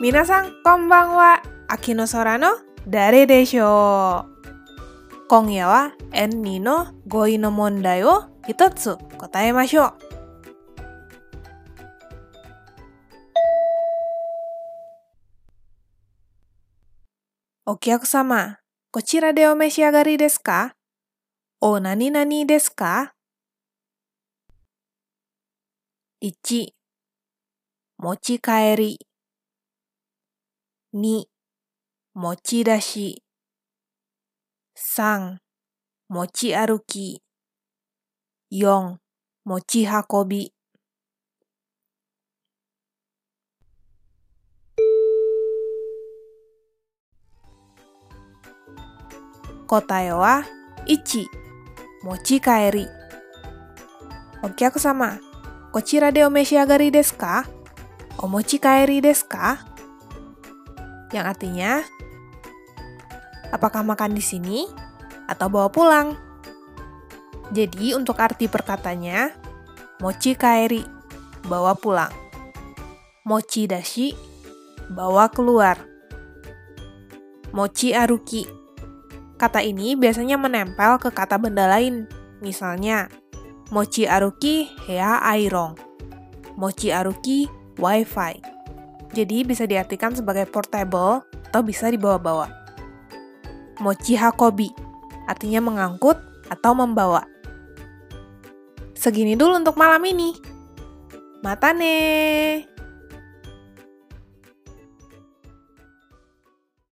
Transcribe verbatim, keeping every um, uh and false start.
Minasan, konbanwa. Akino Sora no Dare desho. Kongya wa en ni no goi no mondai wo hitotsu kotaemashou. お客様、こちらでお召し上がりですか？お何々ですか？ いち. 持ち帰り に. 持ち出し さん. 持ち歩き よん. 持ち運び答えはいち. 持ち帰り。お客様、こちらでお召し上がりですか？お持ち帰りですか? Yang artinya, apakah makan di sini atau bawa pulang? Jadi untuk arti perkatanya, mochi kaeri, bawa pulang. Mochi dashi, bawa keluar. Mochi aruki. Kata ini biasanya menempel ke kata benda lain. Misalnya, mochi aruki hair iron. Mochi aruki wifi. Jadi bisa diartikan sebagai portable atau bisa dibawa-bawa. Mochi hakobi, artinya mengangkut atau membawa. Segini dulu untuk malam ini. Mata ne.